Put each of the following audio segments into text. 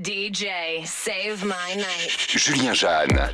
DJ, save my night. Julien Jeanne.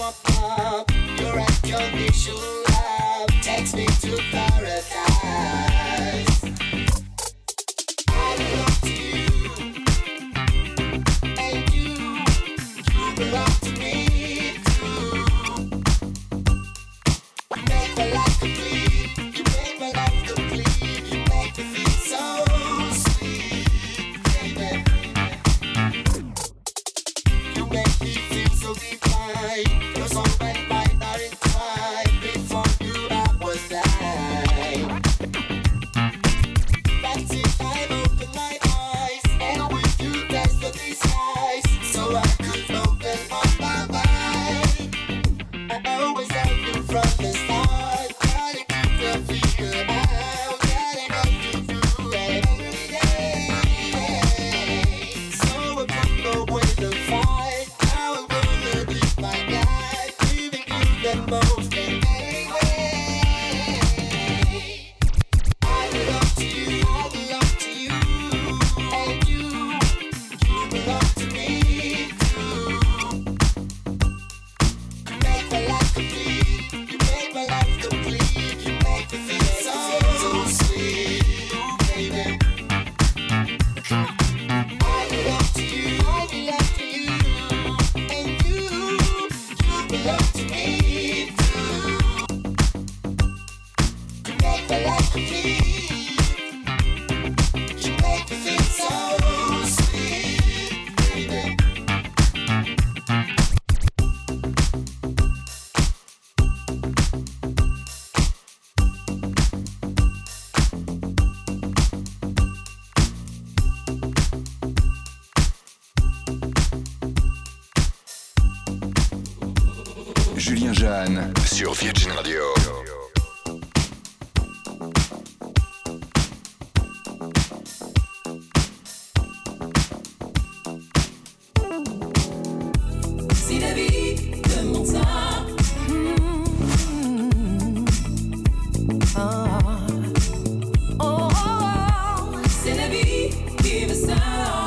apart. Your unconditional love takes me to paradise. I belong to you, and you belong to me too. You make my life complete, you make my life complete, you make me feel so sweet, baby. You make me feel so divine. Your soul and mine are entwined. Before you I was blind. That's it, I've opened my eyes, and with you there's no disguise. So I could open up my mind. I always love you from the start. Gotta keep the figure out. Gotta make you through every day. So I put away the fight. Now I'm gonna live my life, giving you the most in any way. I belong to you, I belong to you, and you belong to me too. You make my life complete, you make my life complete, you make me feel so sweet, baby. I belong to you, I belong to you, and you belong to me too. You make my life complete, you make me feel so sweet, baby. Julien Jeanne sur Virgin Radio. Si la vie demande ça, c'est la vie qui veut ça.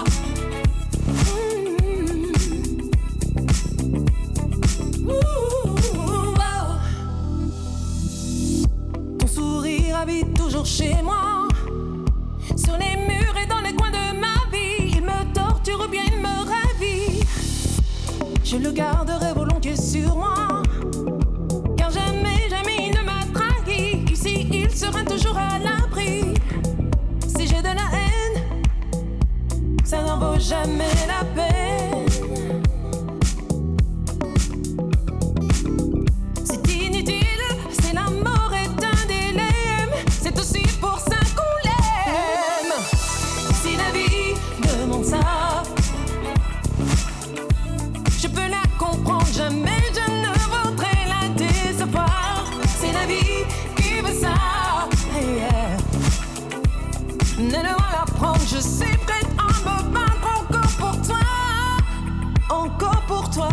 Ton sourire habite toujours chez moi. Sur les murs et dans les coins de ma vie, il me torture ou bien il me ravit. Je le garderai volontiers sur moi, car jamais, jamais il ne m'a trahi. Ici, il sera toujours à l'abri. Si j'ai de la haine, ça n'en vaut jamais la peine. C'est inutile, c'est la mort est un dilemme. C'est aussi pour ça qu'on l'aime. Si la vie demande ça, je peux la comprendre, jamais je ne voudrais la décevoir. C'est la vie qui veut ça, yeah. Ne devant la prendre, je suis prête à me battre encore pour toi, encore pour toi.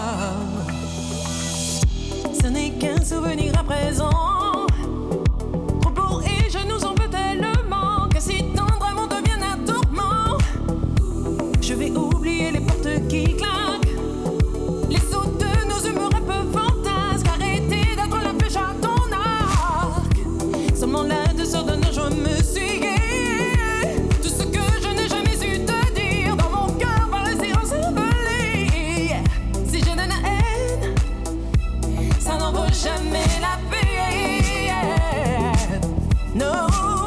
Ce n'est qu'un souvenir à présent, trop beau et je nous en veux tellement, que si tendre amour devienne un tourment, je vais oublier les portes qui claquent, les sauts de nos humeurs un peu fantasques. Arrêtez d'être la flèche à ton arc. Seulement la douceur de nos joies me suit. Tout ce que je n'ai jamais su te dire, dans mon cœur par le silence envolé. Si j'ai de la haine, ça n'en vaut jamais la peine. No,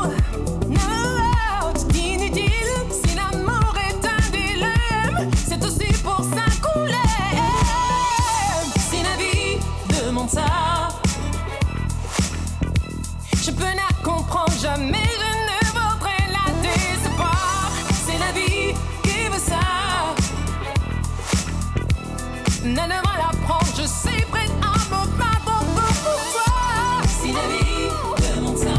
no, c'est inutile. Si l'amour est un dilemme, c'est aussi pour ça qu'on l'aime. Si la vie demande ça, je peux la comprendre, jamais je ne voudrais la décevoir. C'est la vie qui veut ça. Ne devant la prendre, je suis prête à me battre encore pour toi. Si la vie demande ça,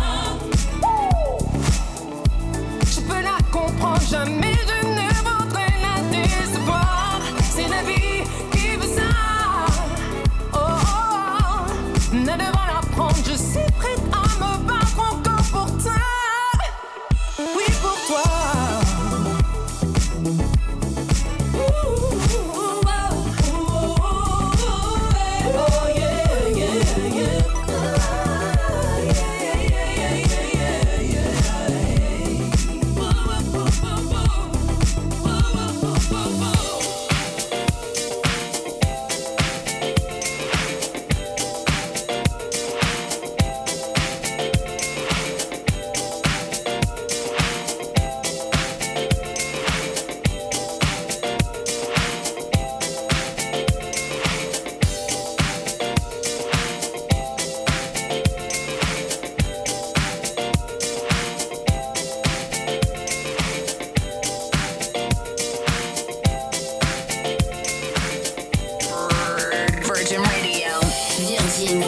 je peux la comprendre, jamais je ne voudrais la décevoir. C'est la vie qui veut ça. Oh, oh, oh. Ne devant la prendre, je suis prête à me battre encore pour toi. Oui, pour toi. Ouh, oh, oh, oh. Virgin Radio. Virgin.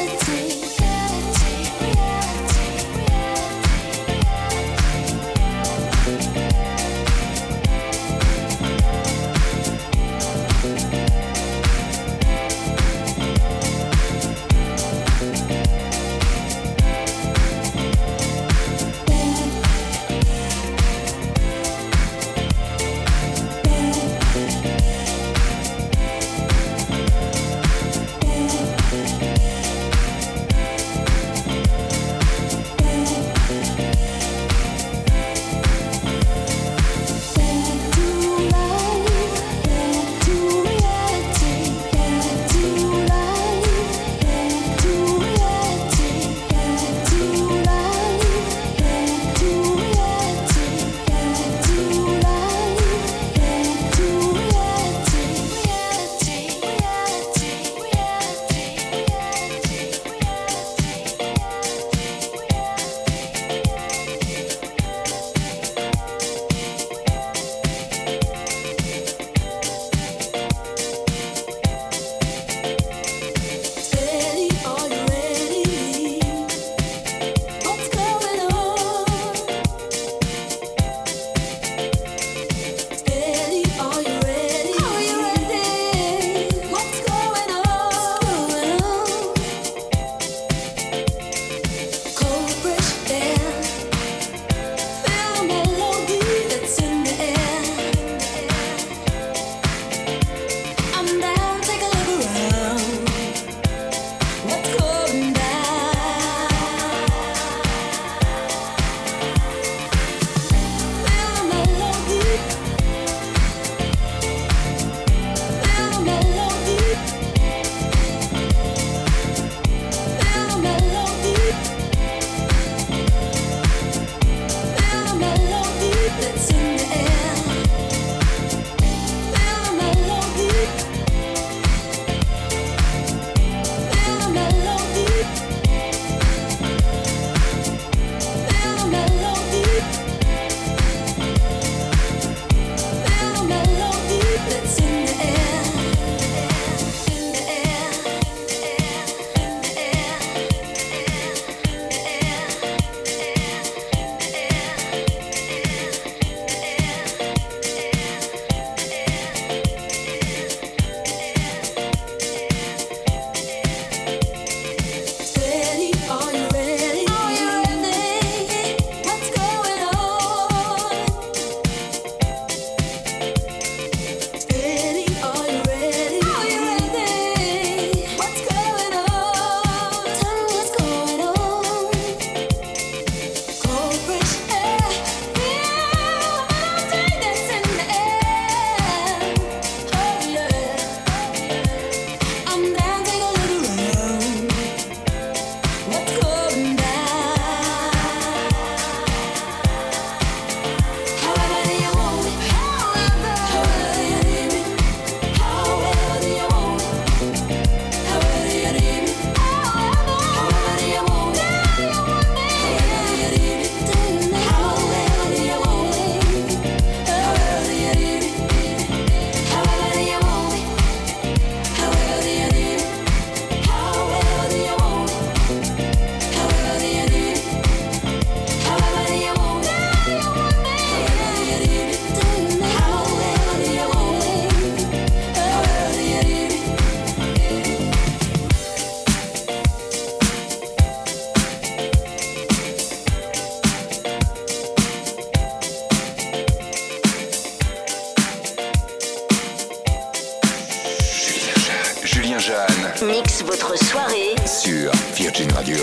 Mix votre soirée sur Virgin Radio.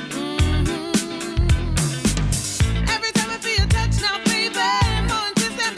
Every time I feel your touch now, baby, more insistent.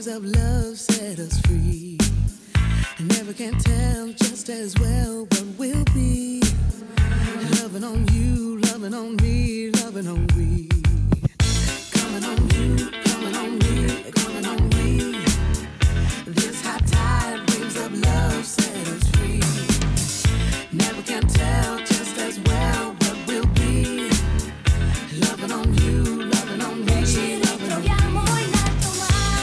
of love set us free. I never can tell just as well what we'll be. Loving on you, loving on me, loving on we. Coming on you, coming on me, coming on we. This high tide waves of love set us free. Never can tell just as well what we'll be. Loving on you, loving on me. Ci ritroviamo in alto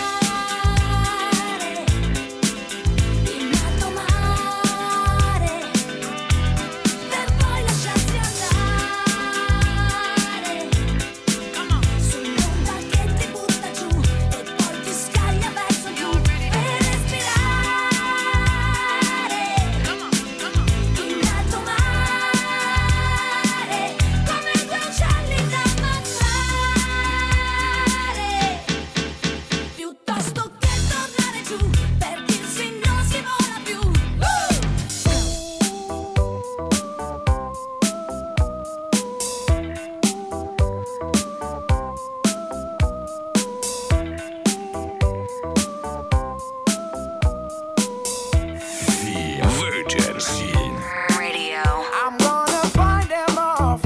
mare, in alto mare, per poi lasciarsi andare. Sull'onda che ti butta giù e poi ti scaglia verso giù per respirare. In alto mare, come due uccelli da ammazzare. Piuttosto che tornare giù per dirsi non si vola più. Virgin Radio. I'm gonna find them off.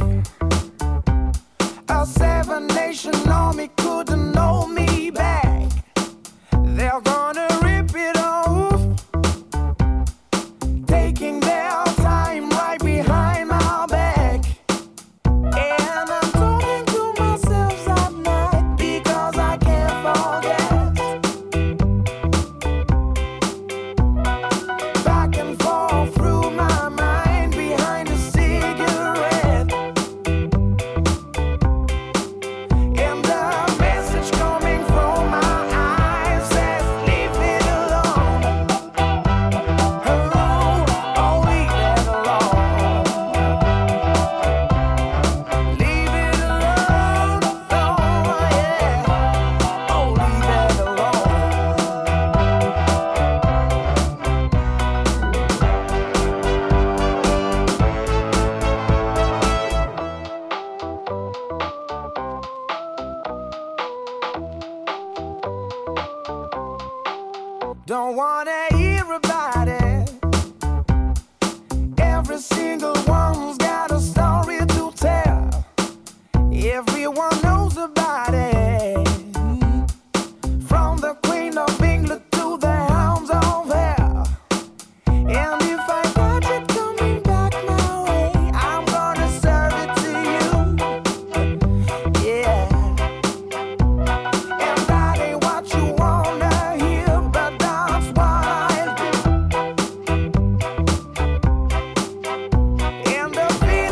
A seven-nation army couldn't hold me back. They're gonna rip it off, taking their time right behind my back. And I'm talking to myself at night because I can't forget. Back and forth through my mind behind a cigarette. And the message coming from my eyes says, leave it alone. Oh, oh, leave it alone. Leave it alone. Oh, yeah. Oh, leave it alone. Don't wanna hear about it. Every single one's got a story to tell. Everyone knows about it. From the Queen of England to the hounds of hell. And if I catch it coming back my way, I'm gonna serve it to you. Yeah. And that ain't what you wanna hear, but that's what I'll do. And the feeling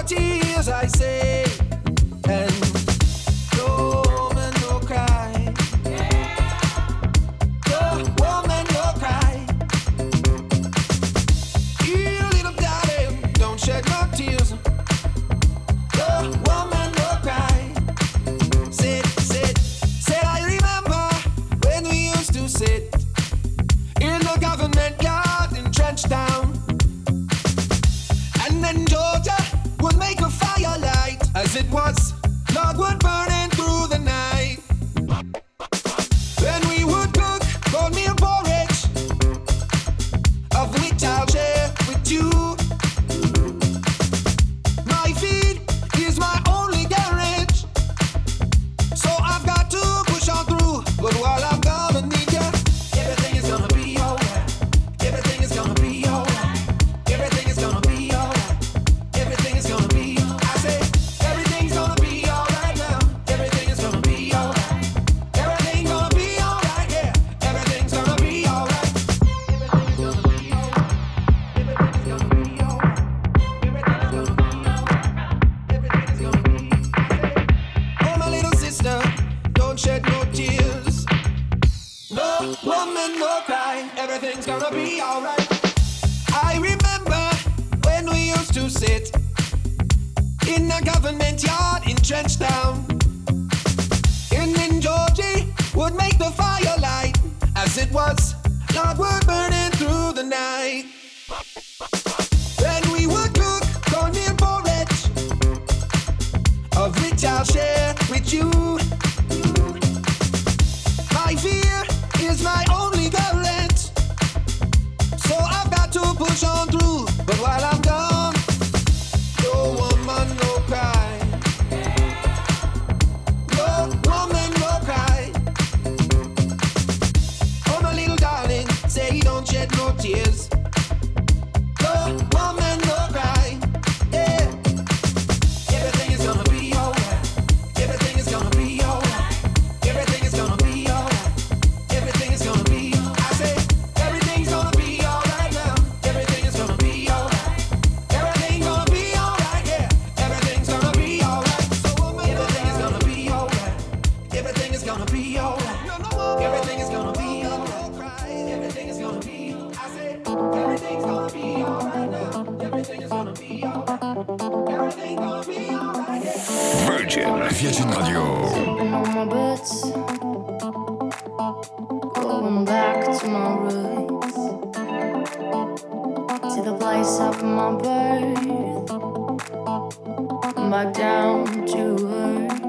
tears, I say, and no woman no cry. No woman no cry. You little darling, don't shed no tears. No woman no cry. Said I remember when we used to sit in the government yard in Trenchtown. And then Georgia would make a firelight as it was logwood burning through the night. Then we would cook cornmeal porridge, of which I'll share with you. My feed is my only garage, so I've got to push on through. But while I'm gonna need ya, everything is gonna be alright. Everything is gonna be alright. Everything is gonna be alright. Everything is gonna be. I say everything's gonna be alright now. Everything is gonna be alright. Everything's gonna be alright. Yeah, everything's gonna be alright. Everything's gonna be alright. Everything's gonna be alright. Everything's gonna be alright. Everything's gonna be. Oh my little sister, don't shed no tears. No woman, no cry. Everything's gonna be alright. I remember when we used to sit in the government yard in Trenchtown. And then Georgie would make the firelight as it was logwood burning through the night. Then we would cook cornmeal porridge, of which I'll share with you. My fear is my only current, so I've got to push on through. But while I'm gone, no woman no cry. No woman no cry. Oh my little darling, say don't shed no tears. No woman no cry. Yeah. Everything is gonna be alright. Everything is gonna be alright. Everything is gonna be alright. Everything is gonna be. I say everything's gonna be alright now. Everything is gonna be alright. Everything's gonna be alright. Yeah. Everything's gonna be alright. So everything is gonna be alright. Everything is gonna be alright. Everything is gonna be alright. Everything is gonna be. I say everything's gonna be alright now. Everything is gonna be alright. Everything's gonna be alright. Yeah. Virgin Radio. Sipping on my boots, going back to my roots, to the place of my birth, back down to earth.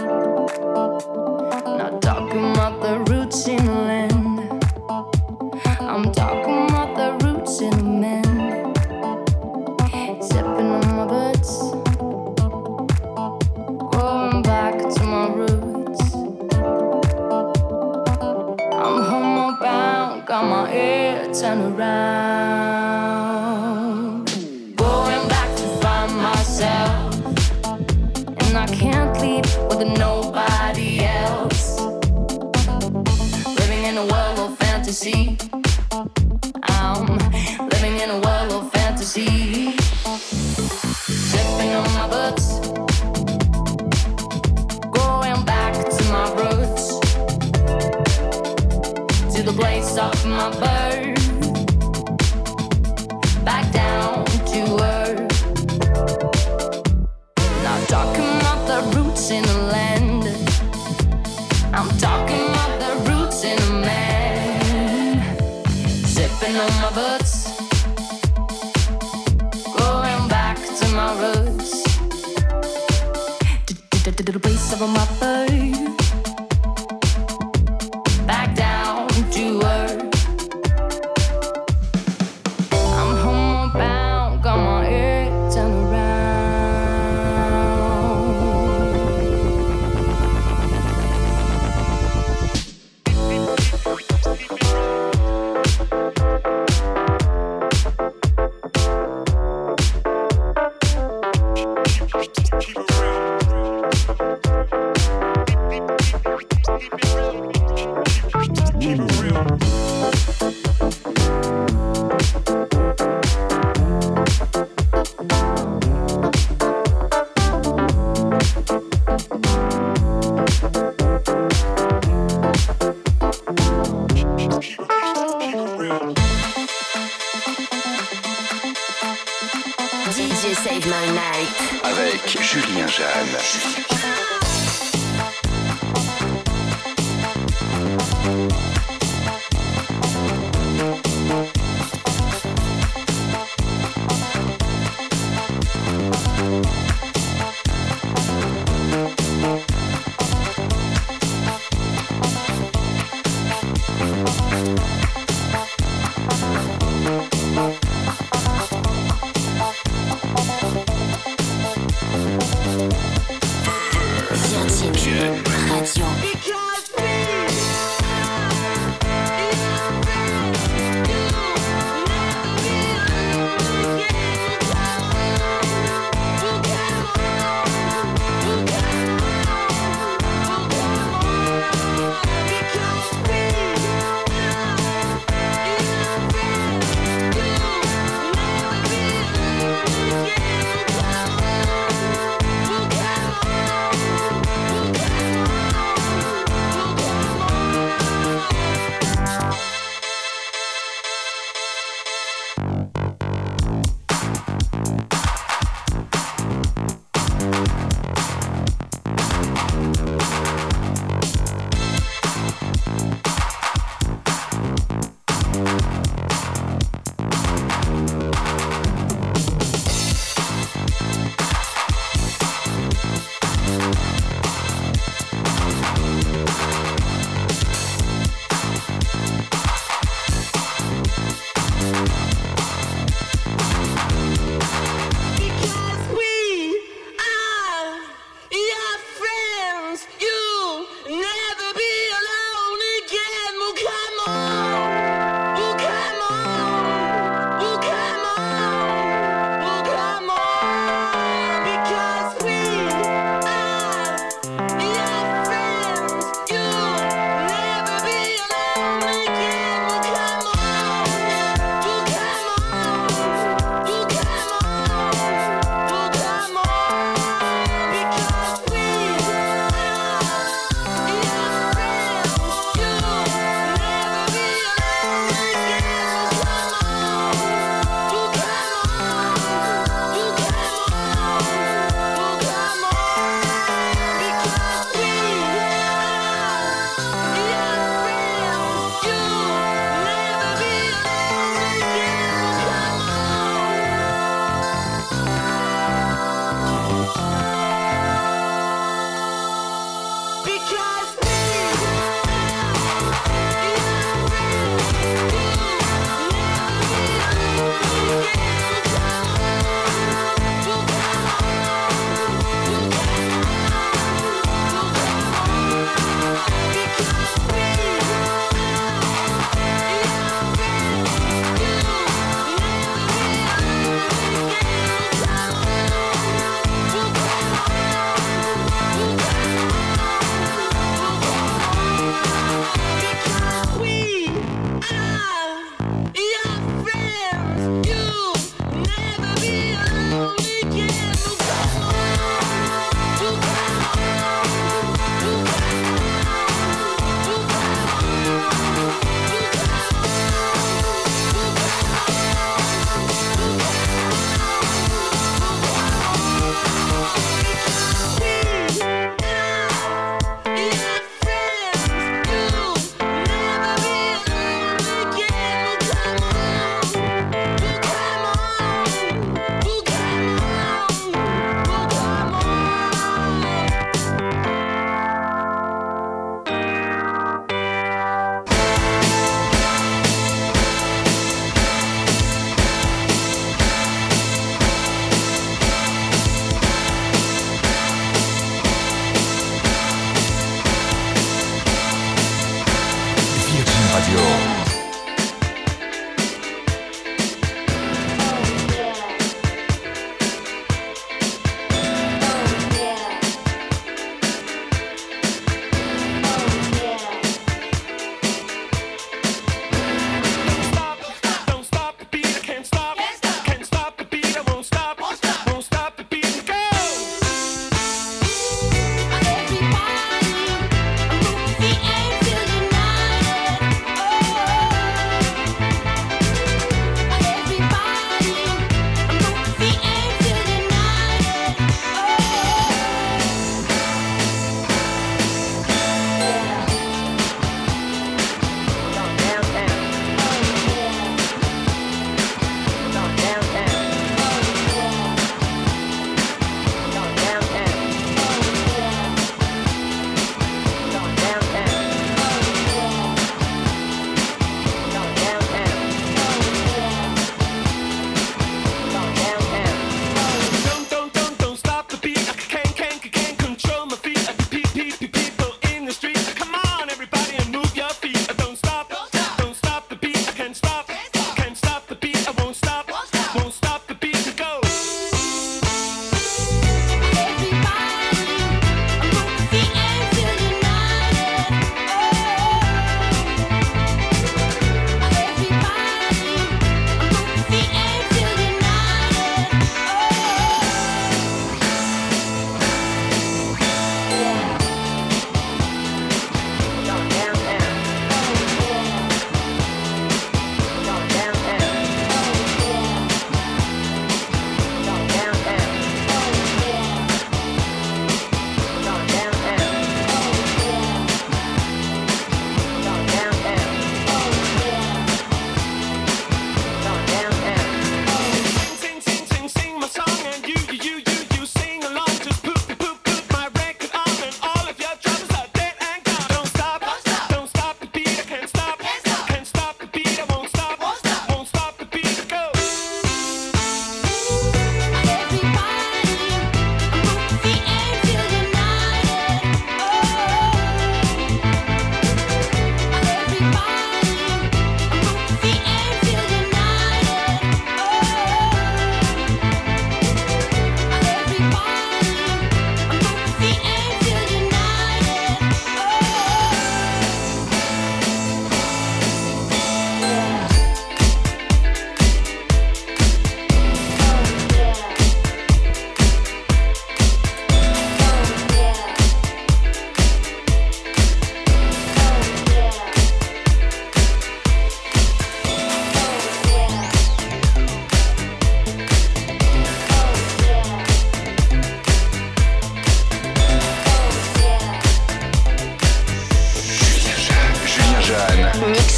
Not talking about the roots in the land, I'm talking about the roots in the man. Sipping on my boots, going back to my roots. I'm homebound, got my head turned around. Going back to find myself, and I can't leave with nobody else. Living in a world of fantasy, I'm living in a world of fantasy. Sipping on my boots, going back to my roots, to the place of my birth, back down to earth. Not talking about the roots in the land, I'm talking about the roots in a man. Sipping on my boots, going back to my roots, to the place of my birth, back down to earth. I'm homebound, got my head turned around. My Night. Avec Julien Jeanne.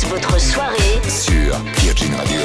votre soirée sur Virgin Radio.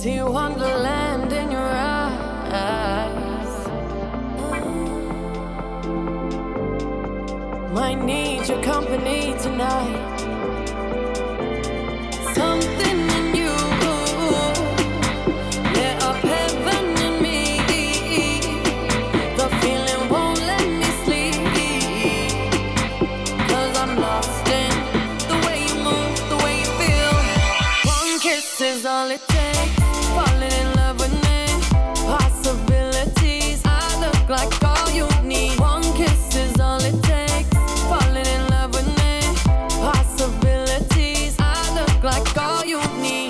See wonderland in your eyes. Might need your company tonight. Something in you lit up heaven in me. The feeling won't let me sleep, 'cause I'm lost in the way you move, the way you feel. One kiss is all it takes. Falling in love with me. Possibilities, I look like all you need. One kiss is all it takes. Falling in love with me. Possibilities, I look like all you need.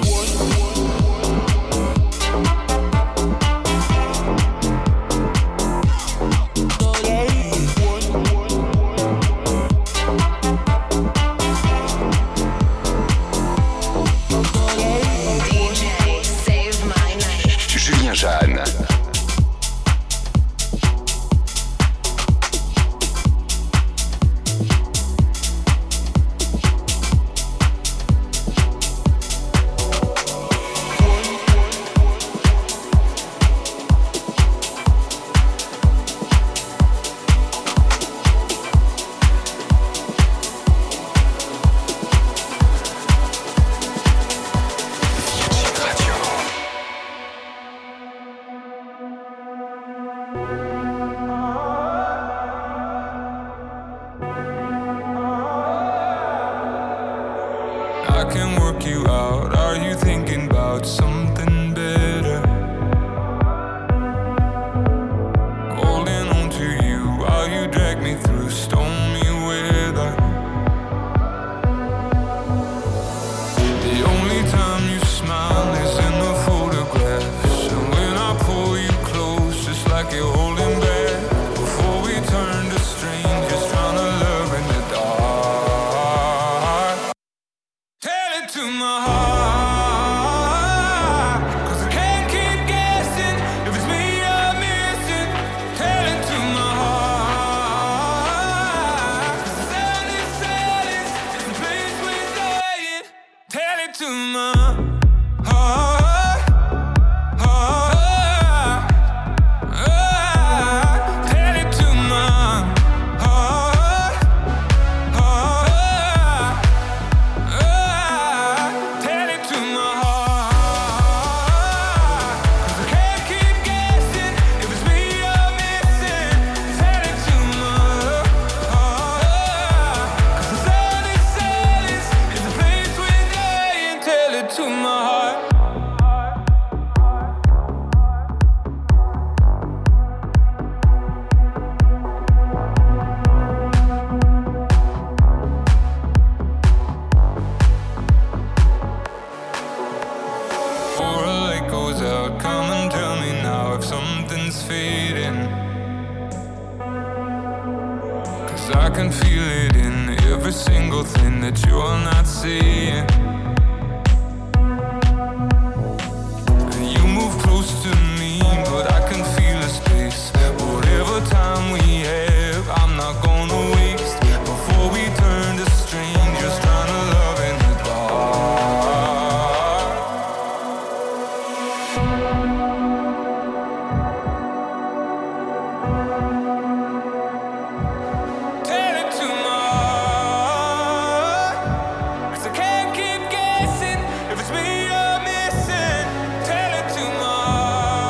Julien Jeanne. I can work you out. Are you thinking about something better? Holding on to you while you drag me through stormy weather. The only time you smile is in the photographs, and when I pull you close, just like you're holding back. Before we turn to strangers, trying to love in the dark. Tell it to my heart, 'cause I can't keep guessing if it's me you're missing. Tell it to my heart, 'cause the silence is the place we're dying. Tell it to my heart, tell it to my heart, tell it to my heart, 'cause I can't keep guessing if it's me you're missing. Tell it to my heart, 'cause the silence is the place we're dying. Tell it to my heart. Or a light goes out, come and tell me now if something's fading. 'Cause I can feel it in every single thing that you're not seeing. And you move close to me, but I can feel a space. Whatever time we have, I'm not gonna waste. Before we turn to strangers, trying to love in the dark. Tell it to my heart, 'cause I can't keep guessing if it's me you're missing. Tell it to my heart.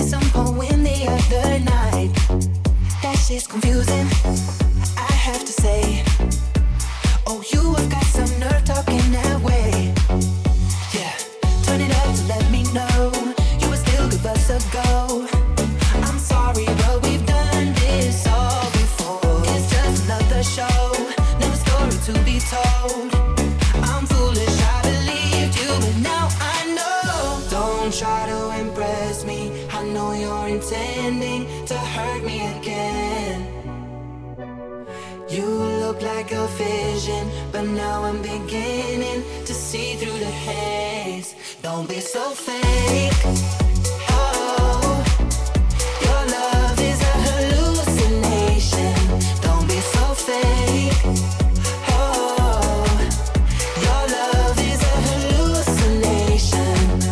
some poem the other night. That shit's confusing, I have to say. Oh, you have got some nerve talking that way. Yeah, turn it up to let me know you would still give us a go. I'm sorry, but we've done this all before. It's just another show, another story to be told. I'm foolish, I believed you, but now I know. Don't try to impress me, I know you're intending to hurt me again. You look like a vision, but now I'm beginning to see through the haze. Don't be so fake. Oh, your love is a hallucination. Don't be so fake. Oh, your love is a hallucination.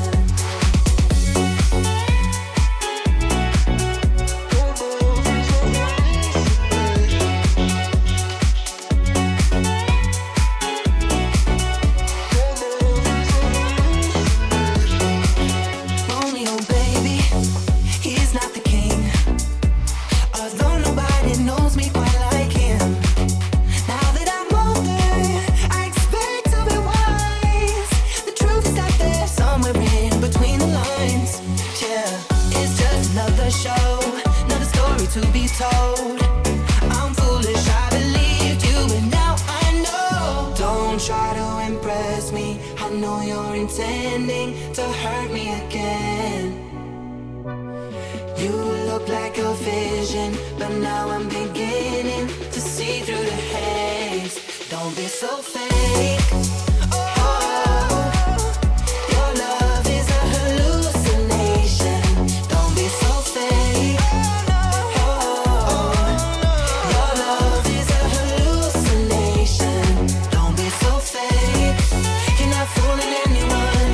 Romeo, baby, he's not the king. Although nobody knows me quite like him. Now that I'm older, I expect to be wise. The truth is out there somewhere in between the lines. Yeah, it's just another show, another story to be told. I'm foolish, I believed you, but now I know. Don't try to impress me, I know you're intending to hurt me again. You look like a vision, but now I'm beginning to see through the haze. Don't be so fake. Oh, your love is a hallucination. Don't be so fake. Oh, your love is a hallucination. Don't be so fake. You're not fooling anyone.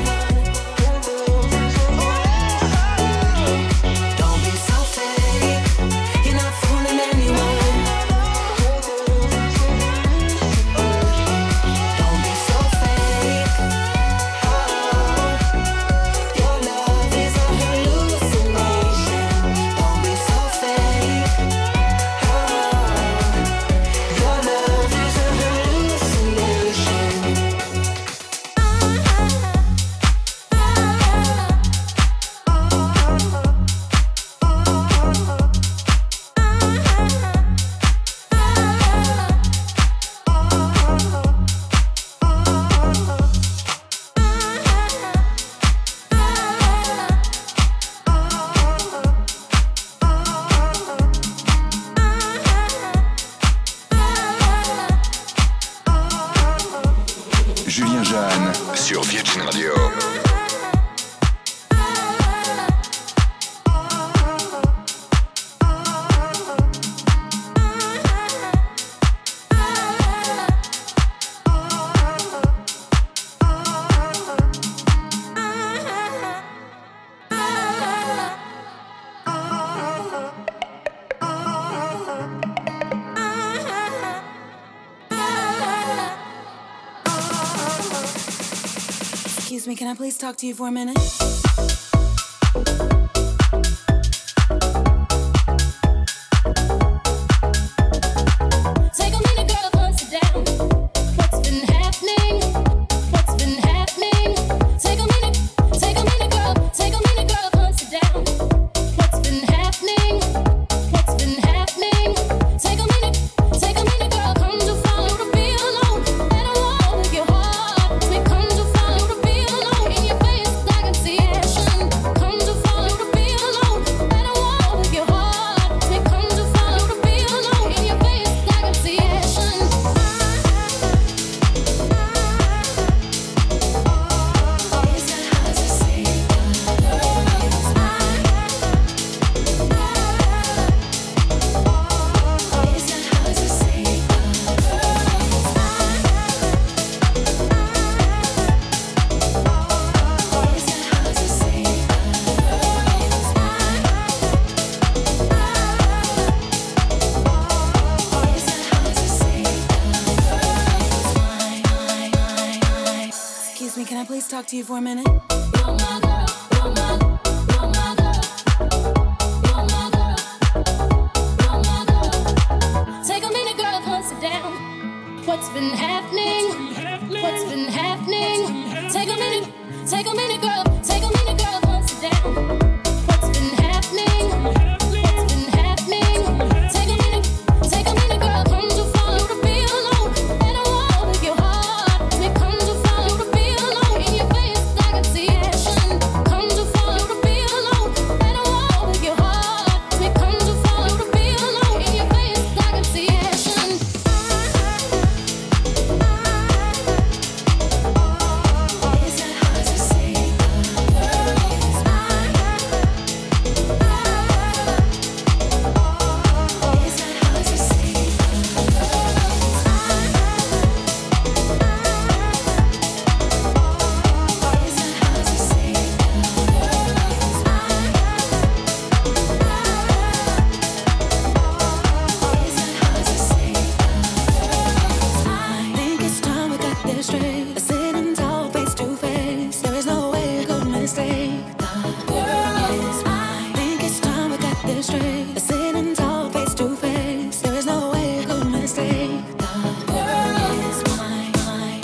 Don't be so fake. You're not fooling anyone. Don't be so fake. Oh, your love is a hallucination. Don't be so fake. Oh, your love is a hallucination. Julien Jeanne sur Virgin Radio. Excuse me, can I please talk to you for a minute? Take a minute, girl, and sit down. What's been happening? What's been happening? Take a minute, girl. Take a minute, girl, and sit down. What's been happening? What's been happening? Take a minute, girl. Come to follow to be alone. Let her walk with your heart. Come to follow to be alone. In your face, I can see action. Come to follow to be alone. Let her walk with your heart. Come to follow to be alone. In your face, I can see action. Is that hard to say? Is that hard to say? Is that hard to say? Is that hard to say? Excuse me, can I please talk to you for a minute? You're my girl, you're my girl. this straight. Let's sit and talk face to face. There is no way I could mistake. The girl is mine.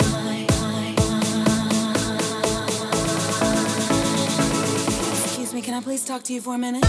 Excuse me, can I please talk to you for a minute?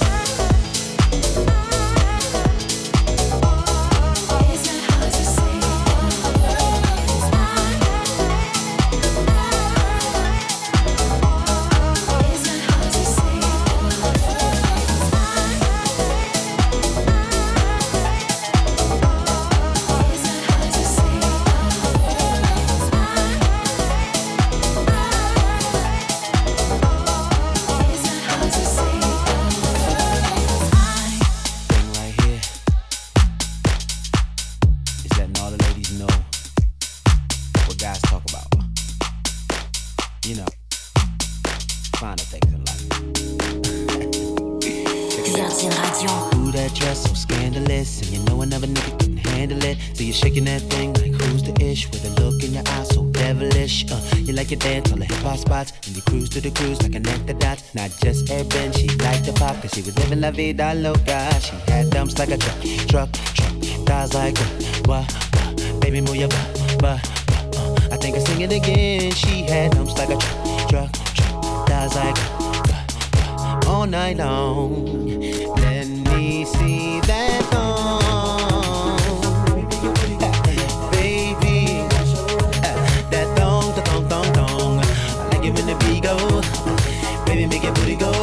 You dance on the hip-hop spots and you cruise to the cruise like connect the dots. Not just urban, she liked the pop cause she was living la vida loca. She had dumps like a truck, thighs like wah, baby move your butt, I think I sing it again. She had dumps like a truck, thighs like all night long. Let me see that thong. When the beat go, baby, make your booty go.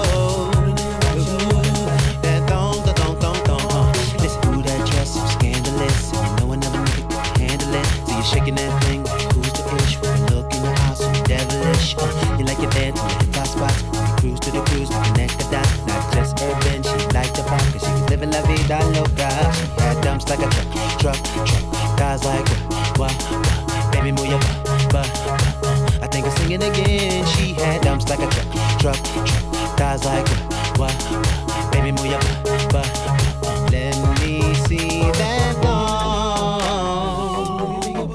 That thong. Listen, ooh, that dress so scandalous, and you know another nigga can handle it. So you're shaking that thing, who's the ish? With a look in your eyes, so devilish. You like your dance on the hip-hop spots, when you cruise to the cruise, connect the dots. Not just urban, she liked the pop, cause she was living la vida loca. She had dumps like a truck, thighs like what? Baby, move your butt. I think I'm singing again. She had dumps like a truck, thighs like what? Baby, move your butt. Let me see that thong.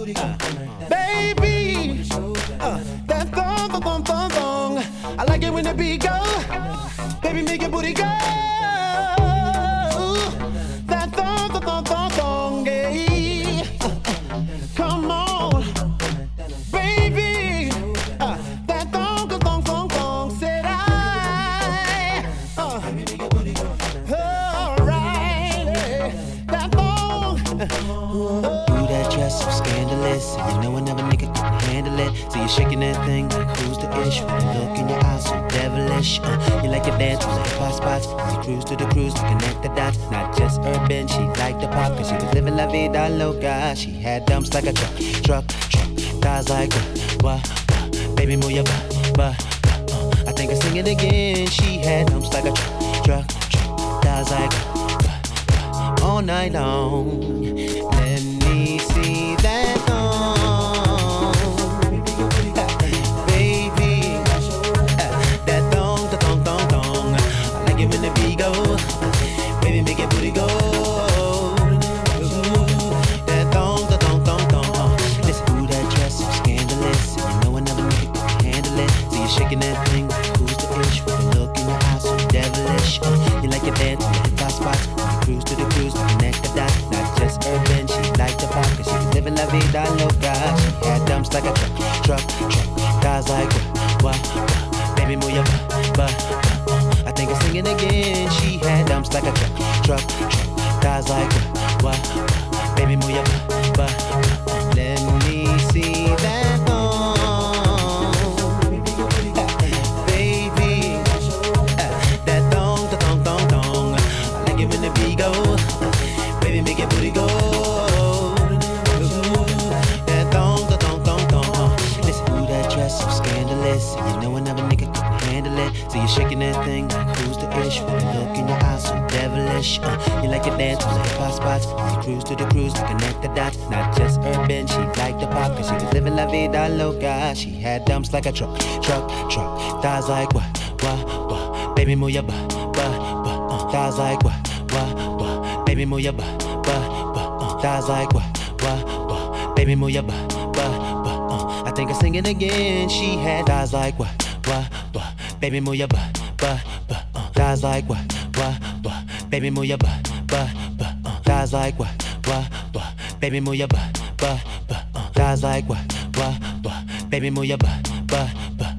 Baby, that thong. I like it when the beat go. Baby, make your booty go. That thong, yeah. Come on. So scandalous, and you know another nigga couldn't handle it. So you're shaking that thing like who's the ish? With a look in your eyes so devilish. You like your dance on the hip-hop spots, and you cruise to the cruise, connect the dots. Not just urban, she liked the pop, cause she was living la vida loca. She had dumps like a truck, thighs like what? Baby, move your butt. I think I sing it again. She had dumps like a truck, thighs like all night long. Let me see that thong, baby. That thong. I like it when the beat go, baby, make your booty go. That thong. Listen, ooh, that dress so scandalous, and you know another nigga can handle it. So you're shaking that thing, who's the ish? With a look in your eyes so devilish. You like your dance on the hip-hop spots, cruise to the cruise, connect the dots. Not just urban, she liked the pop, cause she was living la vida loca. She had dumps like a truck, thighs like what? Baby, move your butt. I think I'm singing again. She had dumps like a truck, thighs like what? Baby, move your butt. Let me see that thong, baby. That thong. I like it when the beat go. Baby, make your booty go. That thong. Listen, ooh, that dress so scandalous, and you know another nigga couldn't handle it. So you're shaking that thing like who's the ish? With a look in your eyes so devilish. You like your dance on the hip-hop spots, and you cruise to the cruise, connect the dots. Not just urban, she liked the pop, cause she was living la vida loca. She had dumps like a truck, thighs like what? Baby, move your butt. Thighs like what? Baby, move your butt. Thighs like what? Baby, move your butt. I think I sing it again. She had thighs like what? Baby, move your butt. Thighs like what? Baby, move your butt. Guys like what? Baby, move your butt. Guys like what? Baby, move your butt.